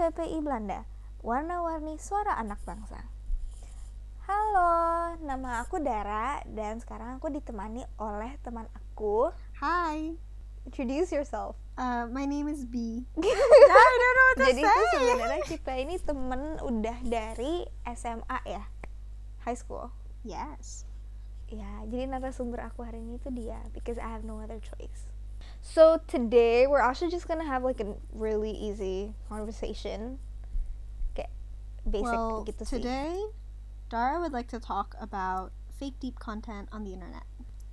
HPPI Belanda, warna-warni suara anak bangsa. Halo, nama aku Dara dan sekarang aku ditemani oleh teman aku. Hi, Introduce yourself. my name is B. I don't know what to Jadi say. Itu sebenarnya kita ini temen udah dari SMA ya, high school. Yes. Ya, jadi narasumber aku hari ini tuh dia, because I have no other choice. So today we're actually just gonna have like a really easy conversation, kayak basic Well, gitu sih. today, Dara would like to talk about fake deep content on the internet.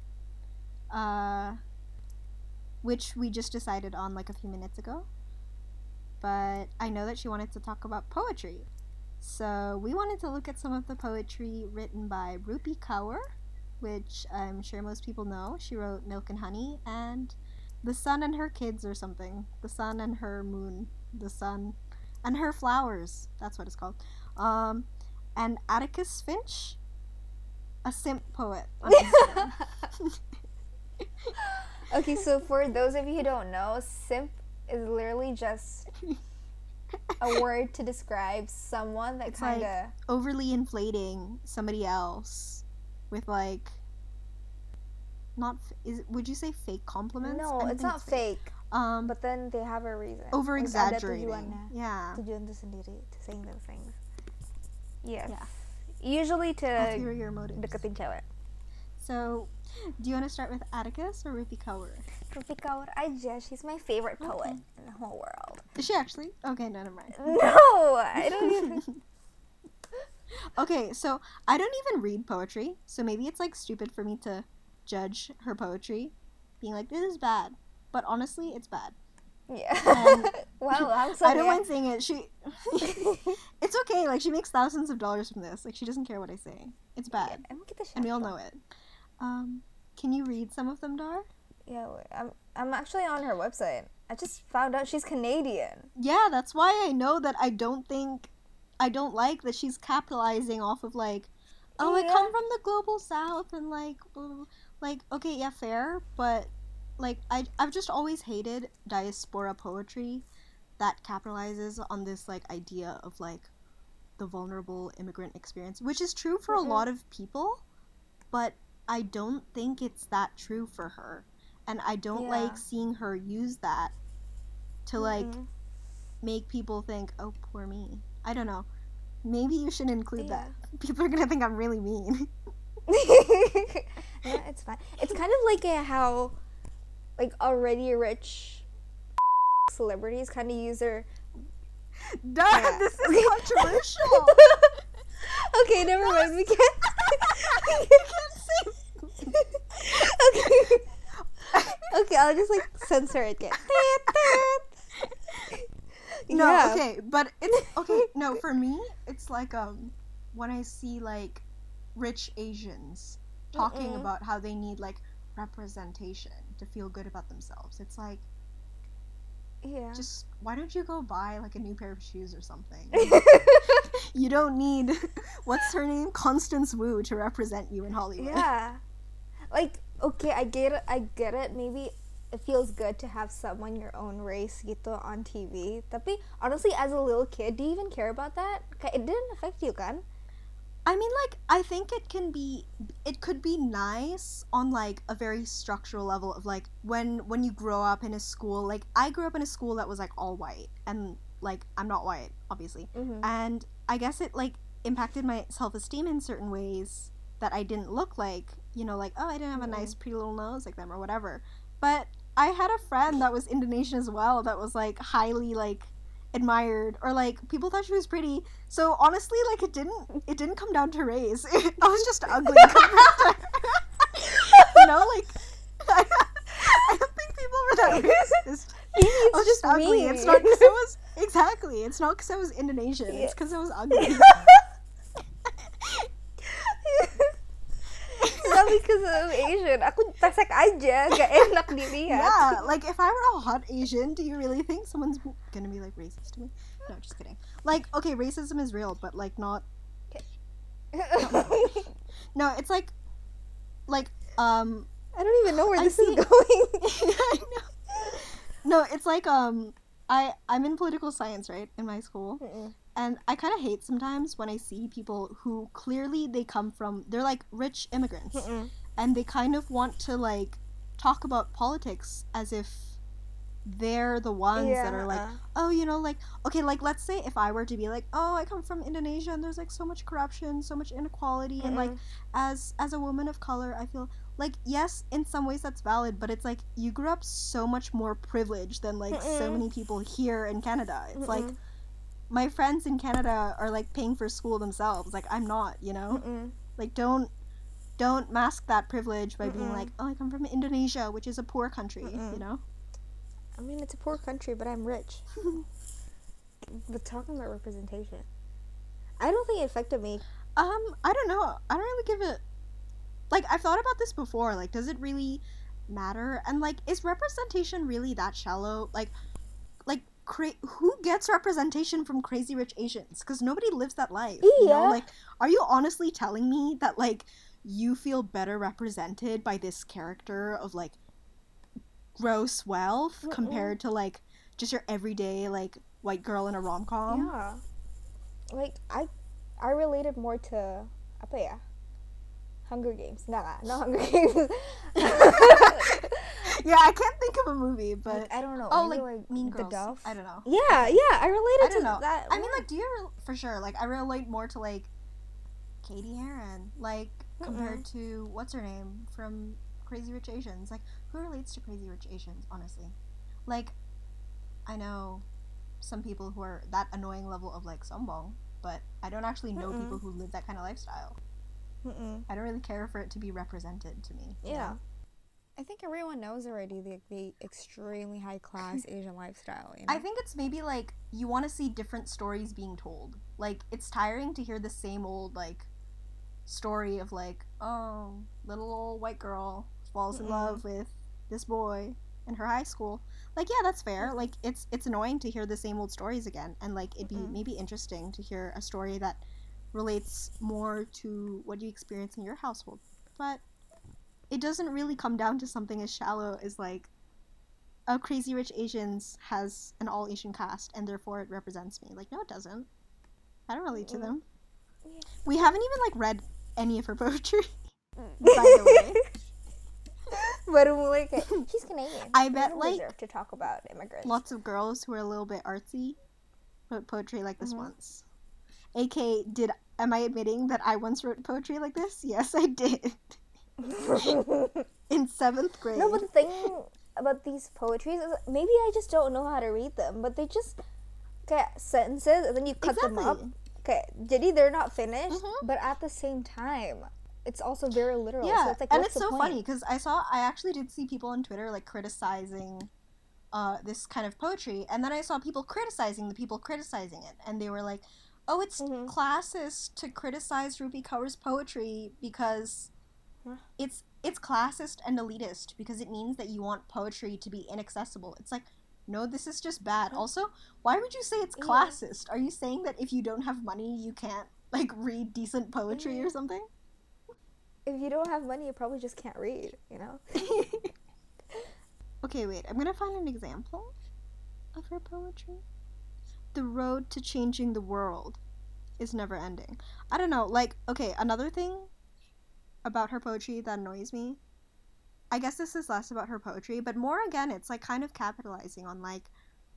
Which we just decided on like a few minutes ago. But I know that she wanted to talk about poetry. So we wanted to look at some of the poetry written by Rupi Kaur, which I'm sure most people know. She wrote Milk and Honey and The Sun and Her Kids or something. The Sun and Her Moon. The Sun and Her Flowers. That's what it's called. And Atticus Finch, a simp poet. On Instagram. Okay, so for those of you who don't know, simp is literally just a word to describe someone that It's kind of like overly inflating somebody else with like would you say fake compliments? No, I it's think not fake. But But then they have a reason. over Like, ada exaggerating. tujuannya. Yeah. Tujuan itu sendiri to saying those things. Yes. Yeah. Usually to Ulterior motives. deketin cewek. So, do you want to start with Atticus or Rupi Kaur? Rupi Kaur aja. She's my favorite poet Okay. in the whole world. Is she actually? Okay, no, never mind. No, I don't even. Okay, so I don't even read poetry, so maybe it's like stupid for me to judge her poetry, being like, this is bad. But honestly, it's bad. Yeah. And Well, langsung I don't ya. mind saying it. It's okay. Like, she makes thousands of dollars from this. Like, she doesn't care what I say. It's bad, Emang kita and we all siapa? know it. Can you read some of them, Dar? Yeah, wait, I'm actually on her website. I just found out she's Canadian. Yeah, that's why I know that I don't like that she's capitalizing off of like, oh, I Yeah. come from the global south and like, blah, blah, blah. Like, okay, yeah, fair, but like I've just always hated diaspora poetry that capitalizes on this like idea of like the vulnerable immigrant experience, which is true for a lot of people, but I don't think it's that true for her. And I don't Yeah. like seeing her use that to like make people think, oh, poor me. I don't know. Maybe you should include Yeah. that. People are gonna think I'm really mean. No, it's fine. It's kind of like how like already rich celebrities kind of use their Duh, Yeah. this is controversial. Okay, never mind. We can't. Okay. Okay, I'll just like censor it. Get. No, Yeah. okay, but it's okay. No, for me, it's like when I see like rich Asians talking about how they need like representation to feel good about themselves. It's like, Yeah. just why don't you go buy like a new pair of shoes or something? You don't need what's her name, Constance Wu, to represent you in Hollywood. Yeah. Like, okay, I get it. Maybe it feels good to have someone your own race gitu on TV. Tapi honestly, as a little kid, do you even care about that? Kayak it didn't affect you, kan? I mean, like, I think it could be nice on like a very structural level of like when you grow up in a school. Like, I grew up in a school that was like all white, and like I'm not white, obviously, and I guess it like impacted my self-esteem in certain ways that I didn't look like, you know, like, oh, I didn't have a nice pretty little nose like them or whatever. But I had a friend that was Indonesian as well that was like highly like admired, or like people thought she was pretty. So honestly, like it didn't come down to race. I was just ugly compared to her. You know, like I don't think people were that racist. I was just ugly. me. It's not because I was exactly. It's not because I was Indonesian. It's because I was ugly. Not because I'm Asian. Aku pesek aja, gak enak dilihat. Yeah, like if I were a hot Asian, do you really think someone's gonna be like racist to me? No, just kidding. Like, okay, racism is real, but like not. No, it's like I don't even know where I this see- is going. I know. No, it's like I'm in political science, right, in my school. Mm-mm. And I kind of hate sometimes when I see people who clearly they're like rich immigrants. Mm-mm. And they kind of want to like talk about politics as if they're the ones that are like, oh, like, okay, like let's say if I were to be like, oh, I come from Indonesia and there's like so much corruption, so much inequality, and like as a woman of color, I feel like, yes, in some ways that's valid, but it's like you grew up so much more privileged than like so many people here in Canada. It's like my friends in Canada are like paying for school themselves, like I'm not, like don't mask that privilege by being like, oh, I come from Indonesia, which is a poor country, I mean, it's a poor country, but I'm rich. But talking about representation, I don't think it affected me. I don't know. I don't really give it. Like, I've thought about this before. Like, does it really matter? And like, is representation really that shallow? Like, who gets representation from Crazy Rich Asians? Because nobody lives that life. Yeah. Like, are you honestly telling me that like you feel better represented by this character of like gross wealth compared to like just your everyday like white girl in a rom-com? Yeah. Like, I related more to apa ya? Hunger Games. Not Hunger Games. Yeah, I can't think of a movie, but like, I don't know. oh, maybe, like Mean The Girls. Dove? I don't know. Yeah, I related to that. I mean, like, do you for sure? Like, I relate more to like Katie Heron, like compared to what's her name from Crazy Rich Asians. Like, who relates to Crazy Rich Asians? Honestly, like, I know some people who are that annoying level of like sombong, but I don't actually know people who live that kind of lifestyle. I don't really care for it to be represented to me. Yeah. You know? I think everyone knows already the extremely high class Asian lifestyle. I think it's maybe like you want to see different stories being told. Like, it's tiring to hear the same old like story of like, oh, little old white girl falls in love with this boy in her high school. Like, yeah, that's fair. Like, it's annoying to hear the same old stories again, and like it'd be maybe interesting to hear a story that relates more to what you experience in your household. But it doesn't really come down to something as shallow as like, oh, Crazy Rich Asians has an all Asian cast and therefore it represents me. Like, no, it doesn't. I don't relate to them. Yeah. We haven't even like read any of her poetry, by the way. But like, she's Canadian. I bet like deserve to talk about immigrants. Lots of girls who are a little bit artsy wrote poetry like this once. AK, am I admitting that I once wrote poetry like this? Yes, I did. In 7th grade. No, but the thing about these poetries is maybe I just don't know how to read them, but they just get sentences and then you cut them up. Okay, jadi they're not finished, but at the same time, it's also very literal. Yeah, so it's like, and what's it's the so point? funny because I actually did see people on Twitter like criticizing this kind of poetry, and then I saw people criticizing the people criticizing it, and they were like, oh, it's classist to criticize Rupi Kaur's poetry because it's classist and elitist because it means that you want poetry to be inaccessible. It's like, no, this is just bad. Also, why would you say it's classist? Are you saying that if you don't have money, you can't like read decent poetry or something? If you don't have money, you probably just can't read, you know? Okay, wait. I'm gonna find an example of her poetry. The road to changing the world is never ending. I don't know, like, okay, another thing about her poetry that annoys me, I guess this is less about her poetry, but more again, it's like kind of capitalizing on like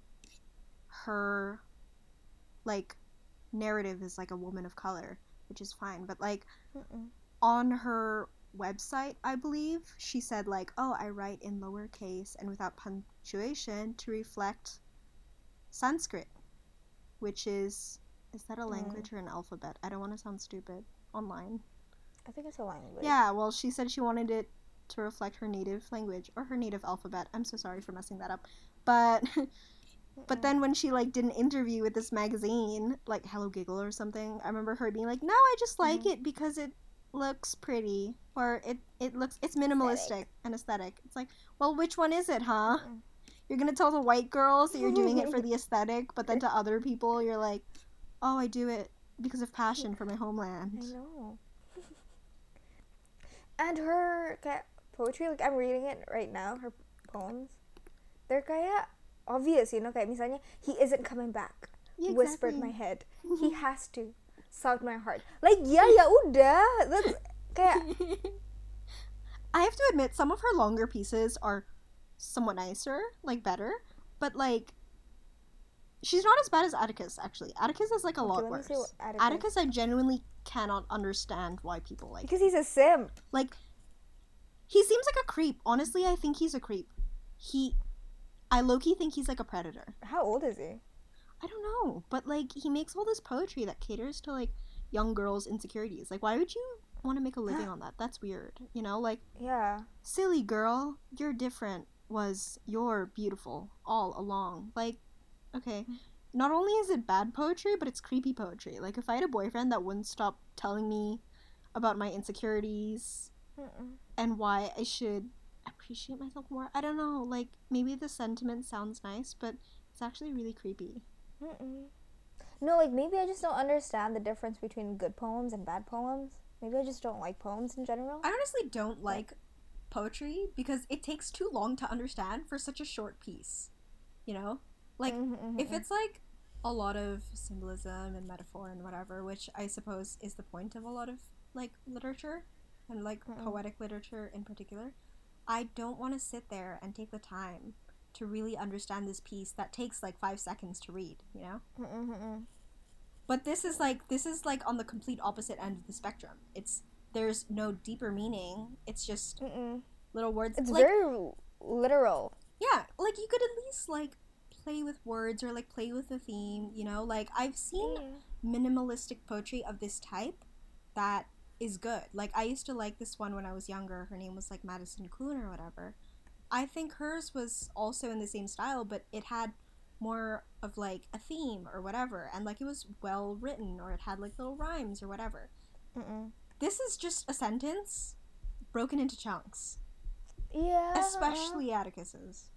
her like narrative as like a woman of color, which is fine, but like on her website, I believe, she said like, oh, I write in lowercase and without punctuation to reflect Sanskrit, which is that a language or an alphabet? I don't want to sound stupid online. I think it's a language. Yeah, well, she said she wanted it to reflect her native language or her native alphabet. I'm so sorry for messing that up. But but then when she like did an interview with this magazine, like Hello Giggle or something, I remember her being like, "No, I just like it because it looks pretty, or it's minimalistic and aesthetic." It's like, well, which one is it, huh? You're gonna tell the white girls that you're doing it for the aesthetic, but then to other people you're like, oh, I do it because of passion for my homeland. I know. And her poetry, like I'm reading it right now, her poems, they're kaya obvious, you know, kayak misalnya he isn't coming back. Yeah, Whispered exactly. my head. He has to. Sound my heart. Like, ya udah. That's kayak I have to admit, some of her longer pieces are somewhat nicer, like better, but like she's not as bad as Atticus. Actually, Atticus is like a lot let me worse. see what Atticus, I genuinely cannot understand why people like. because he's a simp. Like, he seems like a creep. Honestly, I think he's a creep. I low-key think he's like a predator. How old is he? I don't know, but like he makes all this poetry that caters to like young girls' insecurities. Like, why would you want to make a living on that? That's weird. You know, like, Yeah. silly girl, you're different. You're beautiful all along. Like, okay, not only is it bad poetry, but it's creepy poetry. Like, if I had a boyfriend that wouldn't stop telling me about my insecurities and why I should appreciate myself more, I don't know. Like, maybe the sentiment sounds nice, but it's actually really creepy. No, like maybe I just don't understand the difference between good poems and bad poems. Maybe I just don't like poems in general. I honestly don't like poetry because it takes too long to understand for such a short piece. You know? Like, if it's like a lot of symbolism and metaphor and whatever, which I suppose is the point of a lot of like literature and like poetic literature in particular, I don't want to sit there and take the time to really understand this piece that takes like 5 seconds to read, you know? But this is like on the complete opposite end of the spectrum. There's no deeper meaning. It's just little words. It's like, very literal. yeah, like you could at least like play with words or like play with the theme, you know? Like I've seen minimalistic poetry of this type that is good. Like I used to like this one when I was younger. Her name was like Madison Kuhn or whatever. I think hers was also in the same style, but it had more of like a theme or whatever, and like it was well written, or it had like little rhymes or whatever. This is just a sentence broken into chunks. Yeah. Especially Atticus's.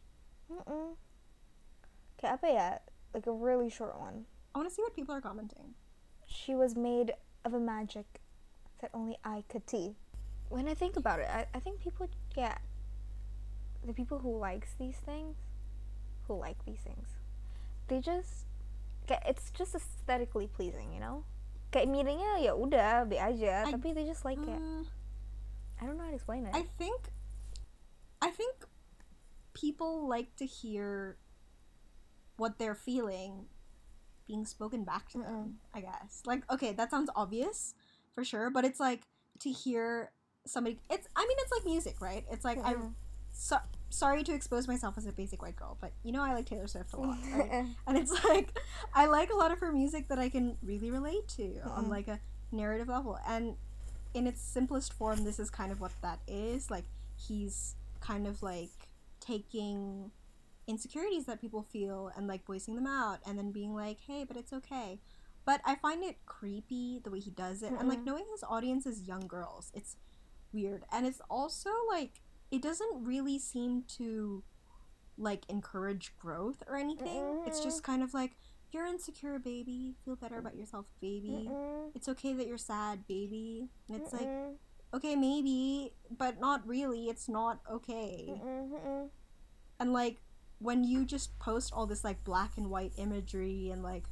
Okay, apa ya? Like a really short one. I want to see what people are commenting. She was made of a magic that only I could see. When I think about it, I think people get the people who like these things, they just it's just aesthetically pleasing, you know? Kayak meaningnya ya udah be aja, tapi they just like it. I don't know how to explain it. I think people like to hear what they're feeling being spoken back to them, I guess. Like, okay, that sounds obvious for sure, but it's like to hear somebody, it's like music, right? It's like sorry to expose myself as a basic white girl, but you know I like Taylor Swift a lot, right? And it's like I like a lot of her music that I can really relate to on like a narrative level, and in its simplest form, this is kind of what that is. Like, he's kind of like taking insecurities that people feel and like voicing them out, and then being like, hey, but it's okay. But I find it creepy the way he does it, and like knowing his audience is young girls, it's weird. And it's also like it doesn't really seem to like encourage growth or anything. It's just kind of like, you're insecure, baby, feel better about yourself, baby. It's okay that you're sad, baby. And it's like, okay, maybe, but not really. It's not okay. And like when you just post all this like black and white imagery and like,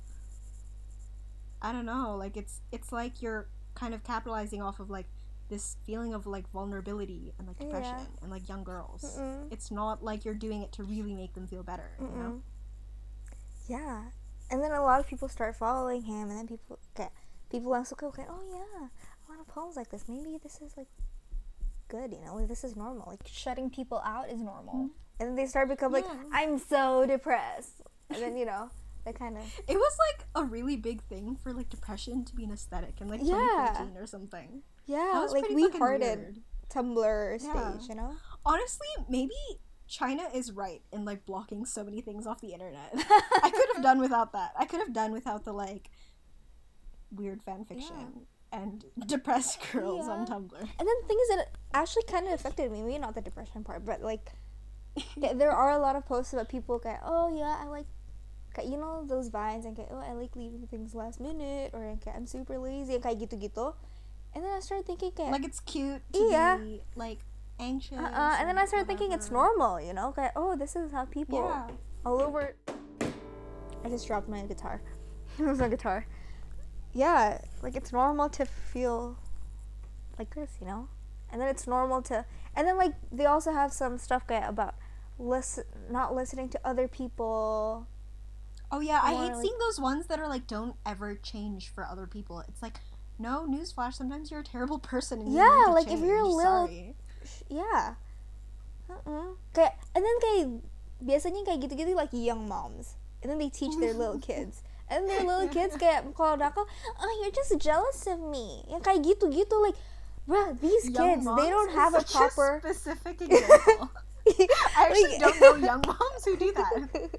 I don't know, like it's like you're kind of capitalizing off of like this feeling of like vulnerability and like depression and like young girls. It's not like you're doing it to really make them feel better, you know? Yeah. And then a lot of people start following him, and then people also go, okay, oh yeah, a lot of poems like this. Maybe this is like good, you know? Like, this is normal. Like shutting people out is normal. And then they start becoming like, I'm so depressed. And then, you know, that kind of... It was like a really big thing for like depression to be an aesthetic in like 2014 or something. Yeah, that was like pretty we fucking hearted weird. Tumblr stage, you know? Honestly, maybe China is right in like blocking so many things off the internet. I could have done without that. I could have done without the like weird fan fiction and depressed girls on Tumblr. And then the thing is that it actually kind of affected me. Maybe not the depression part, but like there are a lot of posts about people go, oh yeah, I like, you know, those vines, and oh, I like leaving things last minute, or I'm super lazy, and kayak gitu-gitu. And then I started thinking like it's cute to be like anxious. And then I started thinking it's normal, you know? Oh, this is how people all over. I just dropped my guitar. It was my guitar. Yeah, like it's normal to feel like this, you know? And then it's normal to, and then like they also have some stuff about not listening to other people. Oh yeah, I More, hate like- seeing those ones that are like, don't ever change for other people. It's like, no, newsflash, sometimes you're a terrible person and you Yeah, need to like, if change. you're a little- Sorry. Yeah. Kayak, and then kayak biasanya kayak gitu-gitu like young moms, and then they teach their little kids, and their little kids kayak kalau nakal, oh you're just jealous of me, yang kayak gitu-gitu, like, bruh, these Young kids, moms they don't is have a such proper. specific example. I actually don't know young moms who do that.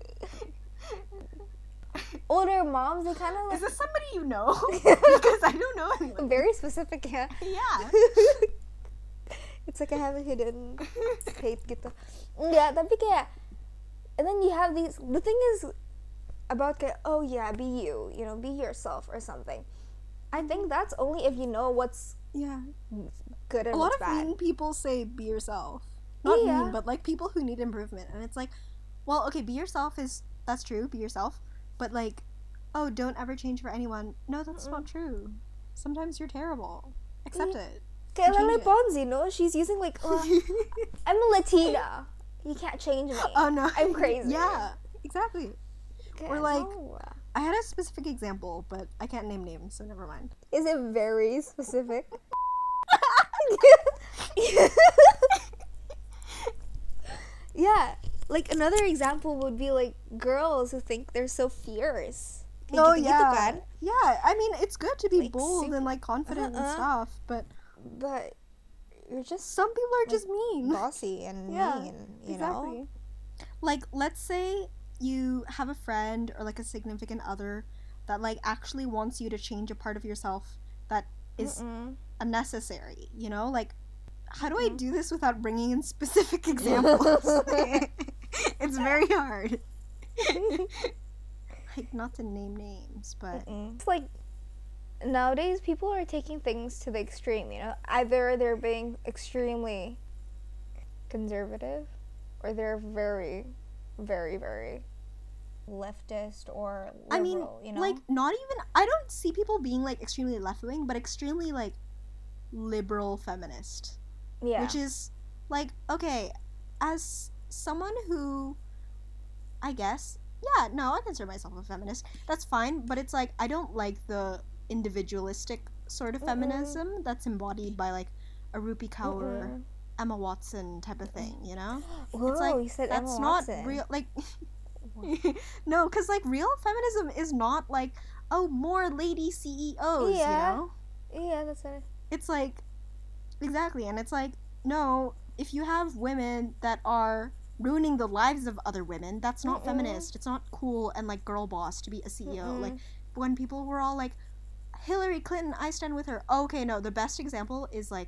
Older moms, they kind of Is like this somebody you know? Because I don't know anyone. very specific, yeah. Yeah. It's like I have a hidden hate gitu. Enggak, tapi kayak, and then you have these, the thing is about kayak, oh yeah, be you, you know, be yourself or something. I think that's only if you know what's Yeah. good and A lot what's of bad. mean people say be yourself. Not Yeah. mean, but like people who need improvement. And it's like, well, okay, be yourself that's true, be yourself. But like, oh, don't ever change for anyone. No, that's not true. Sometimes you're terrible. Accept it. Kayak change Lele it. Pons, you know, she's using like, I'm a Latina. You can't change me. Oh no. I'm crazy. Yeah, exactly. Kayak, Or like- no. I had a specific example, but I can't name names, so never mind. Is it very specific? Yeah, like another example would be like girls who think they're so fierce. Kayak Oh gitu-gitu yeah. kan? Yeah, I mean, it's good to be Like, bold super- and like confident and stuff, but But you're just some people are just mean. bossy and Yeah, mean, you know? Like, let's say you have a friend or like a significant other that like actually wants you to change a part of yourself that is Mm-mm. unnecessary, you know? Like, how do I do this without bringing in specific examples? It's very hard. Like, not to name names, but It's like nowadays people are taking things to the extreme, you know? Either they're being extremely conservative or they're very, very, very leftist or liberal, I mean, you know? like, not even. I don't see people being like extremely left wing, but extremely like liberal feminist. yeah. Which is like, okay, as someone who, I guess, yeah, no, I consider myself a feminist. That's fine, but it's like I don't like the individualistic sort of feminism that's embodied by like a Rupi Kaur, Emma Watson type of thing, you know? Whoa, It's like you said that's Emma not Watson. real. Like, no, because like real feminism is not like, oh, more lady CEOs, Yeah. you know? Yeah, that's it. It's like, exactly, and it's like, no, if you have women that are ruining the lives of other women, that's not feminist. It's not cool and like girl boss to be a CEO. Like, when people were all like, Hillary Clinton, I stand with her. Okay, no, the best example is like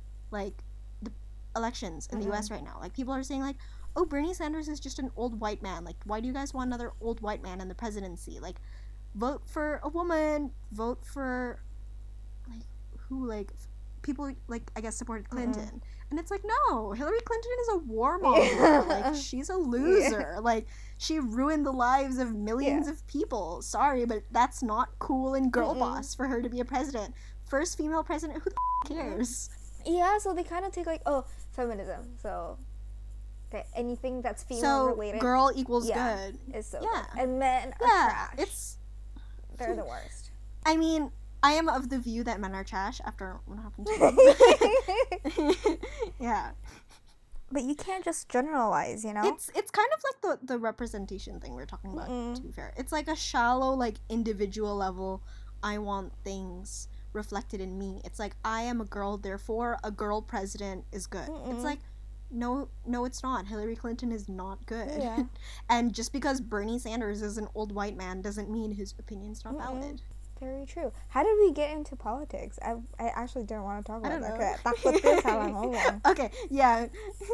the elections in the US right now. Like, people are saying like, oh, Bernie Sanders is just an old white man. Like, why do you guys want another old white man in the presidency? Like, vote for a woman, vote for like who, like people like I guess supported Clinton. And it's like, no, Hillary Clinton is a warmonger. Yeah. Like, she's a loser. Like, she ruined the lives of millions of people. Sorry, but that's not cool and girl boss for her to be a president. First female president, who the cares? Yeah, so they kind of take like, oh, feminism. So, okay, anything that's female So, related girl equals Yeah. good. is so yeah. good. And men are Yeah, trash. it's. They're the worst. I mean, I am of the view that men are trash after what happened to them. Yeah. But you can't just generalize, you know? It's kind of like the representation thing we're talking about, to be fair. It's like a shallow, like, individual level, I want things reflected in me. It's like, I am a girl, therefore a girl president is good. It's like, no, it's not. Hillary Clinton is not good. Yeah. And just because Bernie Sanders is an old white man doesn't mean his opinion's not valid. Very true. How did we get into politics? I actually didn't want to talk I about don't that. know. Takut din salah ngomong. Okay, yeah.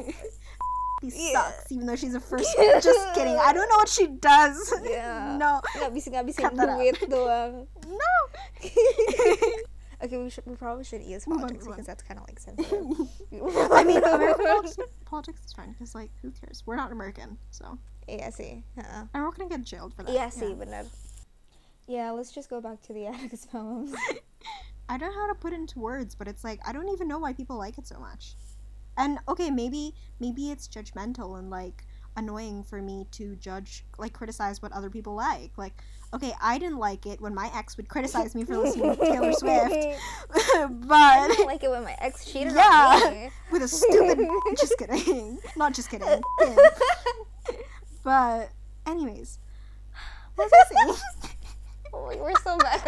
He Yeah. sucks, even though she's a first. Just kidding. I don't know what she does. Yeah. No. Ngabisin Cut that out. duit doang. No. Okay, we probably shouldn't use Move on, politics move on. because that's kind of like sensitive. I mean, American politics is fine because, like, who cares? We're not American, so. Yeah, see. And we're not gonna get jailed for that. Yeah, see, benar. Yeah, let's just go back to the Atticus poems. I don't know how to put it into words, but it's like I don't even know why people like it so much. And okay, maybe it's judgmental and like annoying for me to judge, like criticize what other people like. Like, okay, I didn't like it when my ex would criticize me for listening to Taylor Swift, I but didn't like it when my ex cheated Yeah. on me. with a stupid. Just kidding, not just kidding. But anyways, what was I saying? Oh, we're so bad.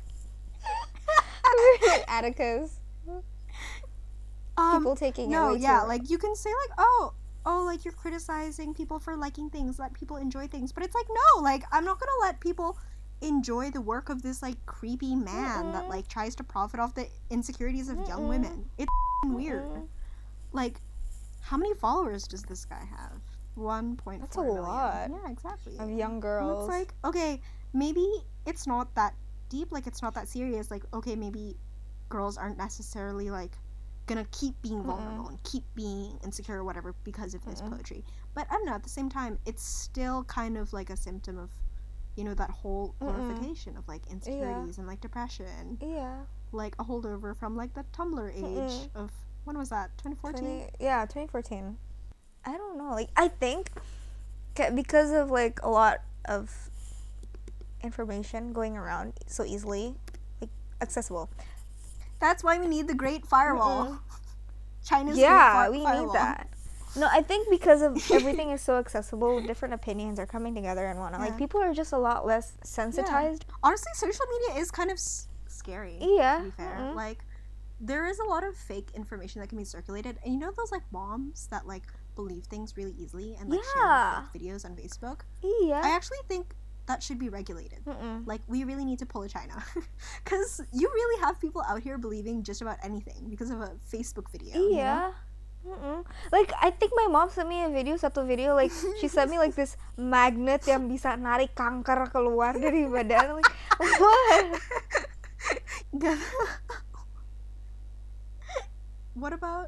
Atticus. People taking it No, way yeah, too like you can say like, oh, like you're criticizing people for liking things, let people enjoy things, but it's like no, like I'm not gonna let people enjoy the work of this like creepy man that like tries to profit off the insecurities of young women. It's weird. Like, how many followers does this guy have? 1.4 That's a million. lot. Yeah, exactly. of young Well, girls. it's like, okay, maybe it's not that deep, like it's not that serious. Like, okay, maybe girls aren't necessarily like gonna keep being vulnerable and keep being insecure or whatever because of this poetry. But I don't know, at the same time, it's still kind of like a symptom of, you know, that whole glorification of like insecurities and like depression. Yeah. Like a holdover from like the Tumblr age of, when was that? 2014? 2014. I don't know. Like, I think because of like a lot of information going around so easily, like accessible. That's why we need the Great Firewall. China's Yeah, Great we Firewall. need that. No, I think because of everything is so accessible, different opinions are coming together and whatnot. Yeah. Like, people are just a lot less sensitized. Honestly, social media is kind of scary. Yeah. To be fair, like there is a lot of fake information that can be circulated, and you know those like moms that like believe things really easily and like share fake videos on Facebook. Yeah. I actually think that should be regulated. Like, we really need to pull a China, because you really have people out here believing just about anything because of a Facebook video. You know? Like, I think my mom sent me a video, satu video, like, she sent me, like, this magnet yang bisa narik kanker keluar dari badan. Like, what? What about,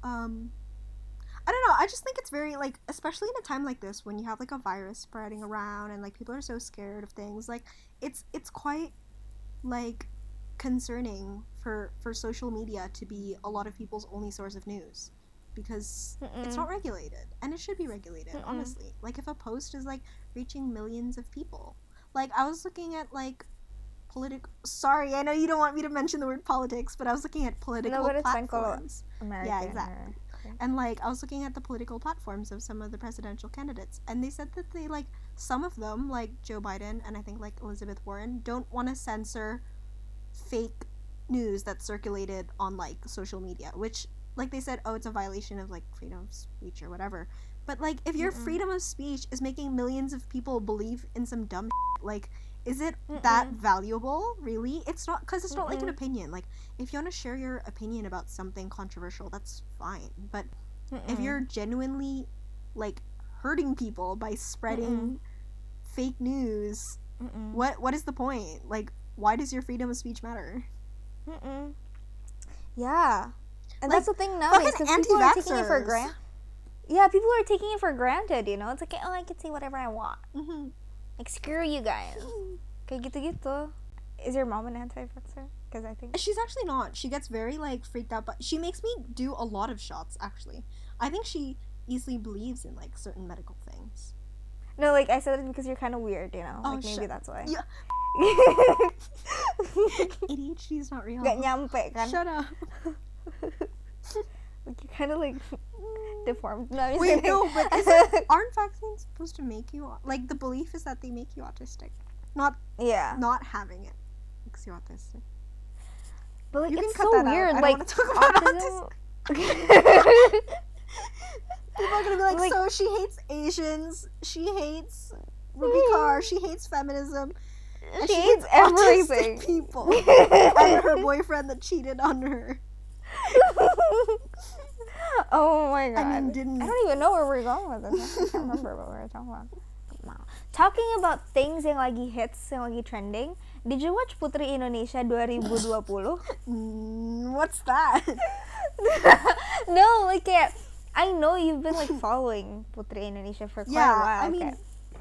I don't know, I just think it's very, like, especially in a time like this, when you have, like, a virus spreading around, and, like, people are so scared of things, like, it's quite, like, concerning for social media to be a lot of people's only source of news. Because it's not regulated, and it should be regulated, honestly. Like, if a post is like reaching millions of people, like I was looking at like sorry, I know you don't want me to mention the word politics, but I was looking at political platforms. American, yeah, exactly. And like I was looking at the political platforms of some of the presidential candidates, and they said that they like some of them, like Joe Biden and I think like Elizabeth Warren, don't want to censor fake news that's circulated on like social media, which like they said, oh, it's a violation of like freedom of speech or whatever. But like if your freedom of speech is making millions of people believe in some dumb like, is it that valuable, really? It's not, because it's not like an opinion. Like, if you want to share your opinion about something controversial, that's fine. But if you're genuinely like hurting people by spreading fake news, what is the point? Like, why does your freedom of speech matter? Yeah. And Like, that's the thing nowadays, because people are taking it for anti-vaxxers. granted. Yeah, people are taking it for granted, you know? It's like, oh, I can say whatever I want. Like, screw you guys. Kayak gitu-gitu. Is your mom an anti-vaxxer? Because I think... She's actually not. She gets very like freaked out, but she makes me do a lot of shots, actually. I think she easily believes in like certain medical things. No, like, I said it because you're kind of weird, you know? Oh, like, maybe that's why. Yeah. ADHD is not real. Gak nyampe, kan? Shut up. Like, you're kind of, like, deformed. No, I'm just Wait, kidding. no, but aren't vaccines supposed to make you, like, the belief is that they make you autistic. Not having it makes you autistic. But, like, You can it's cut so that out. weird. I don't Like, wanna talk about autism... People are gonna be like, Like- so she hates Asians, she hates Ruby Carr, she hates feminism, and She hates everything. autistic people, and her boyfriend that cheated on her. Oh my god. I mean, didn't... I don't even know where we're going with this. I can't remember what we were talking about. Talking about things yang lagi hits, yang lagi trending, did you watch Putri Indonesia 2020? What's that? No, like I know you've been like following Putri Indonesia for quite a while. I mean,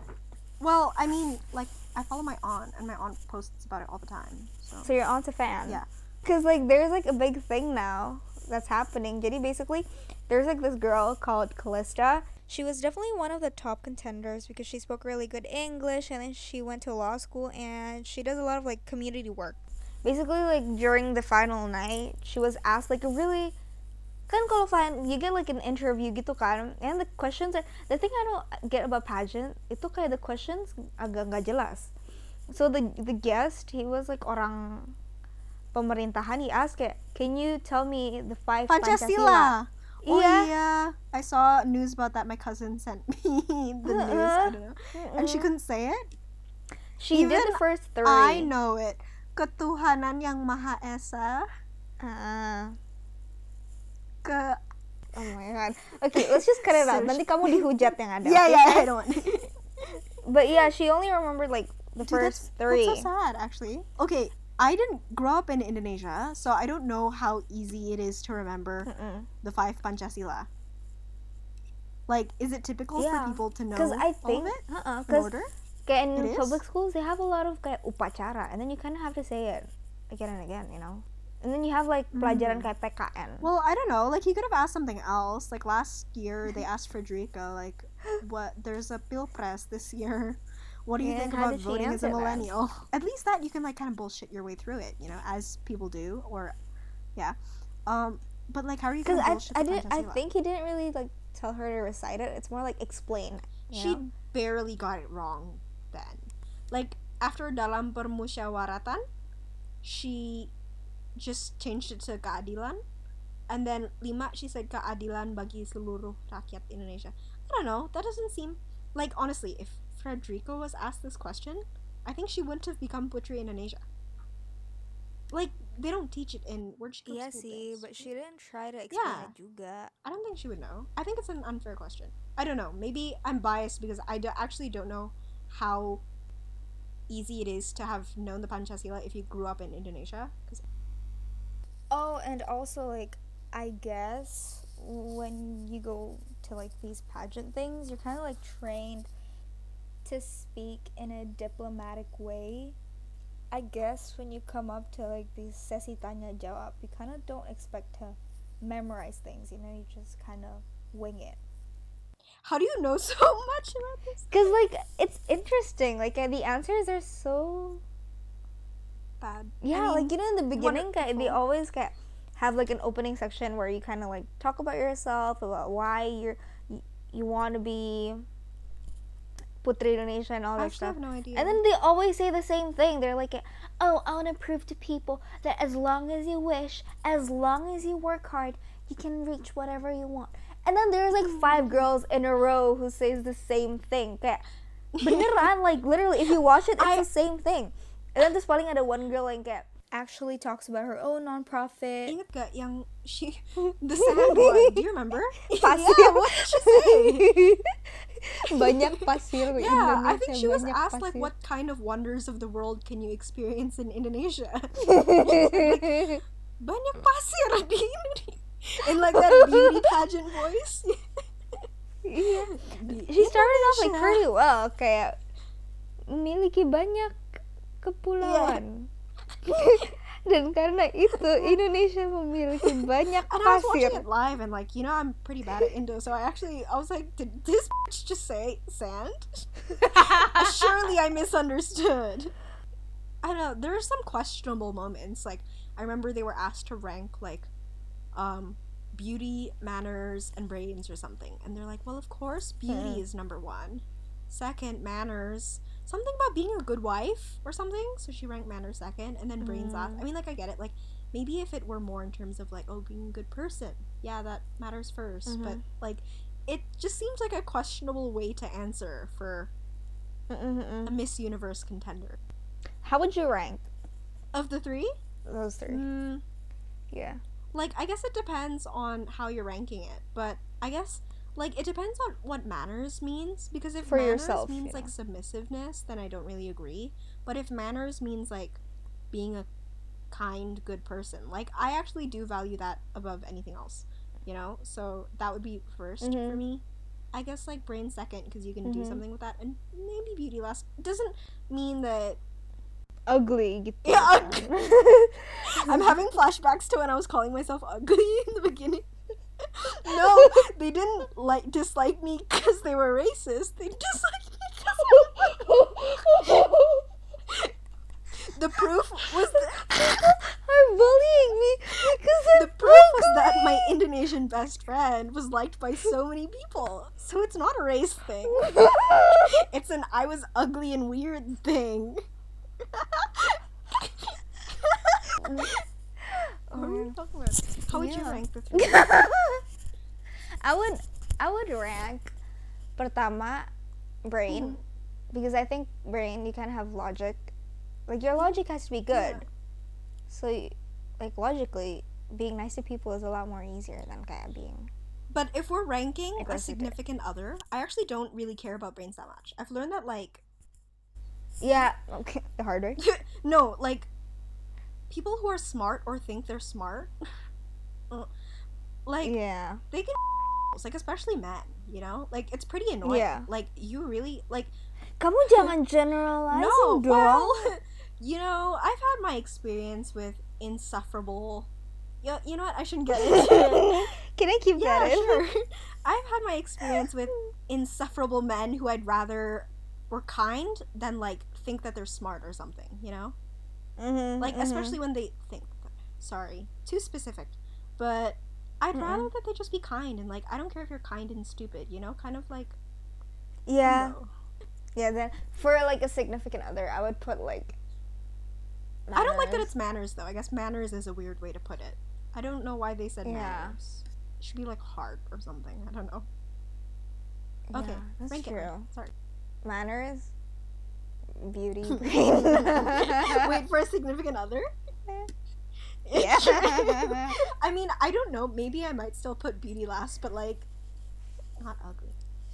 like I follow my aunt, and my aunt posts about it all the time. So your aunt's a fan. Yeah. Cause like there's like a big thing now that's happening. Jadi basically, there's like this girl called Callista. She was definitely one of the top contenders because she spoke really good English, and then she went to law school, and she does a lot of like community work. Basically, like during the final night, she was asked like a really, kan kalau you get like an interview gitu kan, and the questions are, the thing I don't get about pageant itu kayak the questions agak nggak jelas. So the guest, he was like orang pemerintahan. He asked kayak, can you tell me the 5 Pancasila? Oh yeah, I saw news about that. My cousin sent me the news. I don't know, and she couldn't say it. She did the first 3. I know it. Ketuhanan yang Maha Esa. Oh my god. Okay, let's just cut it out. Nanti kamu dihujat yang ada. Yeah, I don't want. But yeah, she only remembered like the first 3. That's so sad, actually. Okay, I didn't grow up in Indonesia, so I don't know how easy it is to remember the 5 Pancasila. Like, is it typical for people to know I think, all of it in order? Kayak in public schools, they have a lot of kayak upacara, and then you kind of have to say it again and again, you know? And then you have like pelajaran kayak PKN. Well, I don't know. Like, he could have asked something else. Like, last year, they asked Frederica, like, there's a Pilpres this year. What do you think about voting as a millennial? At least that you can like kind of bullshit your way through it, you know, as people do, or yeah. But like, how are you gonna bullshit the Pancasila? I think he didn't really like tell her to recite it. It's more like explain. She barely got it wrong then. Like, after dalam permusyawaratan, she just changed it to keadilan, and then 5 she said keadilan bagi seluruh rakyat Indonesia. I don't know. That doesn't seem like, honestly, if Frederica was asked this question, I think she wouldn't have become Putri Indonesia. Like, they don't teach it in where'd she go to school? But she didn't try to explain it juga. I don't think she would know. I think it's an unfair question. I don't know. Maybe I'm biased because I actually don't know how easy it is to have known the Pancasila if you grew up in Indonesia. Oh, and also like, I guess when you go to like these pageant things, you're kind of like trained to speak in a diplomatic way. I guess when you come up to like these sesi tanya jawab, you kind of don't expect to memorize things, you know, you just kind of wing it. How do you know so much about this? Because like, it's interesting, like the answers are so bad. Yeah, I mean, like, you know, in the beginning they always have like an opening section where you kind of like talk about yourself, about why you want to be Putri Indonesia and all that stuff. I have no idea. And then they always say the same thing. They're like, oh, I want to prove to people that as long as you wish, as long as you work hard, you can reach whatever you want. And then there's like 5 girls in a row who says the same thing. Kayak, beneran, like literally, if you watch it, it's the same thing. And then there's paling ada one girl yang kayak actually talks about her own nonprofit. Ingat gak yang the sand one? Do you remember? Pasir. Yeah, what did she say? Banyak pasir. Yeah, I think she was asked like, what kind of wonders of the world can you experience in Indonesia? Like, banyak pasir di Indonesia. In like that beauty pageant voice. Yeah. She started off like pretty well, kayak memiliki banyak kepulauan. Dan karena itu Indonesia memiliki banyak pasir. And I was watching it live and like, you know, I'm pretty bad at Indo, so I was like, did this bitch just say sand? Surely I misunderstood. I don't know, there are some questionable moments. Like, I remember they were asked to rank like beauty, manners, and brains or something, and they're like, well, of course beauty is number 1, second manners, something about being a good wife or something, so she ranked manners second, and then brains last. I mean, like, I get it, like, maybe if it were more in terms of like, oh, being a good person, yeah, that matters first, but like, it just seems like a questionable way to answer for a Miss Universe contender. How would you rank of the 3? Those 3. Yeah. Like, I guess it depends on how you're ranking it, but I guess Like, it depends on what manners means, because if For manners yourself, means, you like, know. submissiveness, then I don't really agree. But if manners means, like, being a kind, good person, like, I actually do value that above anything else, you know? So that would be first for me. I guess, like, brain second, because you can do something with that, and maybe beauty last. Doesn't mean that... Ugly gitu. Yeah, I'm having flashbacks to when I was calling myself ugly in the beginning. No, they didn't dislike me because they were racist. They disliked me because the proof was are bullying me because the proof was that my Indonesian best friend was liked by so many people. So it's not a race thing. It's an I was ugly and weird thing. What were we talking about? How would you rank the three? I would rank pertama brain, because I think brain, you can have logic, like your logic has to be good. So like logically being nice to people is a lot more easier than kayak being. But if we're ranking a Aggressive. significant other, I actually don't really care about brains that much. I've learned that, like, Yeah, okay, the hard way. no, like, people who are smart or think they're smart, like, Yeah. they can like, especially men, you know? Like, it's pretty annoying. Yeah. Like, you really, like, Kamu jangan generalize no, dong. well, you know, I've had my experience with insufferable, you know what, I shouldn't get into it. Can I keep Yeah, that in? sure. I've had my experience with insufferable men who I'd rather were kind than, like, think that they're smart or something, you know? Like, especially when they think, sorry, too specific, but I'd rather that they just be kind, and, like, I don't care if you're kind and stupid, you know? Kind of like, Yeah. no. Yeah, then for like a significant other, I would put like I don't like that manners. it's manners, though. I guess manners is a weird way to put it. I don't know why they said Yeah. manners. It should be like heart or something. I don't know. Okay, Yeah, that's rank it. true. Sorry. Manners, beauty, brain. Wait, for a significant other? Yeah. I mean, I don't know. Maybe I might still put beauty last, but, like, not ugly.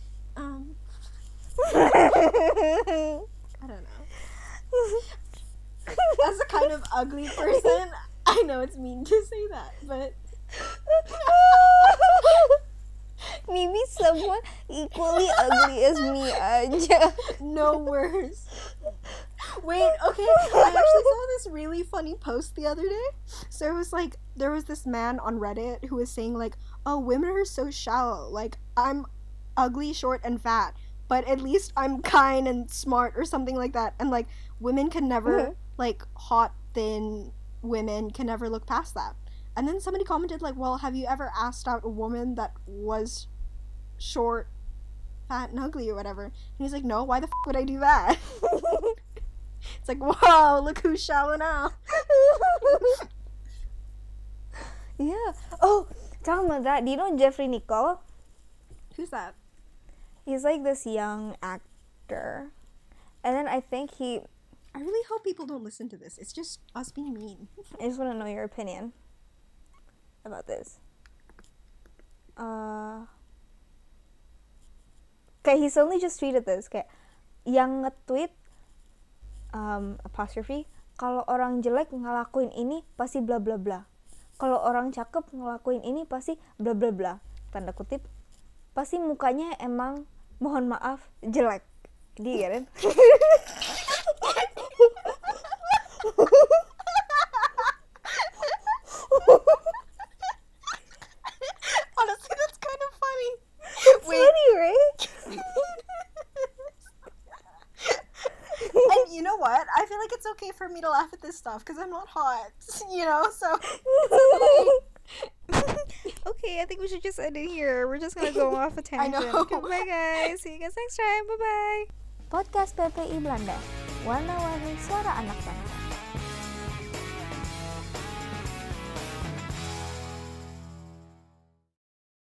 I don't know. As a kind of ugly person, I know it's mean to say that, but Maybe someone equally ugly as me aja. no worse. Wait, okay, I actually saw this really funny post the other day. So it was like, there was this man on Reddit who was saying, like, oh, women are so shallow. Like, I'm ugly, short, and fat, but at least I'm kind and smart or something like that. And, like, women can never, like, hot, thin women can never look past that. And then somebody commented, like, well, have you ever asked out a woman that was short, fat, and ugly or whatever? And he's like, no, why the would I do that? It's like, wow, look who's shallow now. Yeah. Oh, talking about that, do you know Jeffrey Nicole? Who's that? He's like this young actor. And then I think he... I really hope people don't listen to this. It's just us being mean. I just want to know your opinion about this. Okay, he's only just tweeted this. Kayak, yang nge-tweet apostrophe, kalau orang jelek ngelakuin ini pasti bla bla bla. Kalau orang cakep ngelakuin ini pasti bla bla bla. Tanda kutip, pasti mukanya emang mohon maaf jelek. Dia kan? Honestly, that's kind of funny. It's funny, right? And you know what? I feel like it's okay for me to laugh at this stuff because I'm not hot, you know, so. Okay, I think we should just end it here. We're just gonna go off a tangent. know. Goodbye, guys. See you guys next time. Bye-bye. Podcast PPI Belanda. Warna-warni suara anak bangsa.